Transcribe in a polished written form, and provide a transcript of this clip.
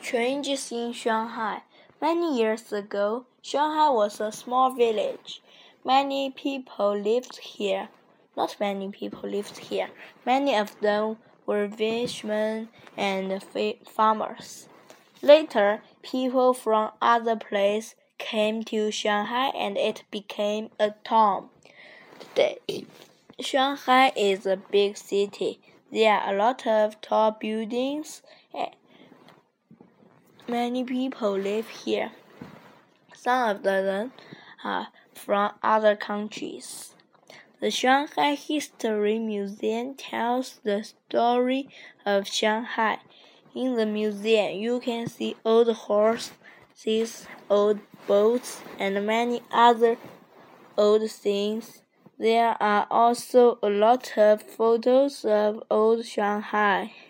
Changes in Shanghai. Many years ago, Shanghai was a small village. Many people lived here. Not many people lived here. Many of them were fishermen and farmers. Later, people from other places came to Shanghai and it became a town. Today, Shanghai is a big city. There are a lot of tall buildings. Many people live here. Some of them are from other countries. The Shanghai History Museum tells the story of Shanghai. In the museum, you can see old horses, old boats, and many other old things. There are also a lot of photos of old Shanghai.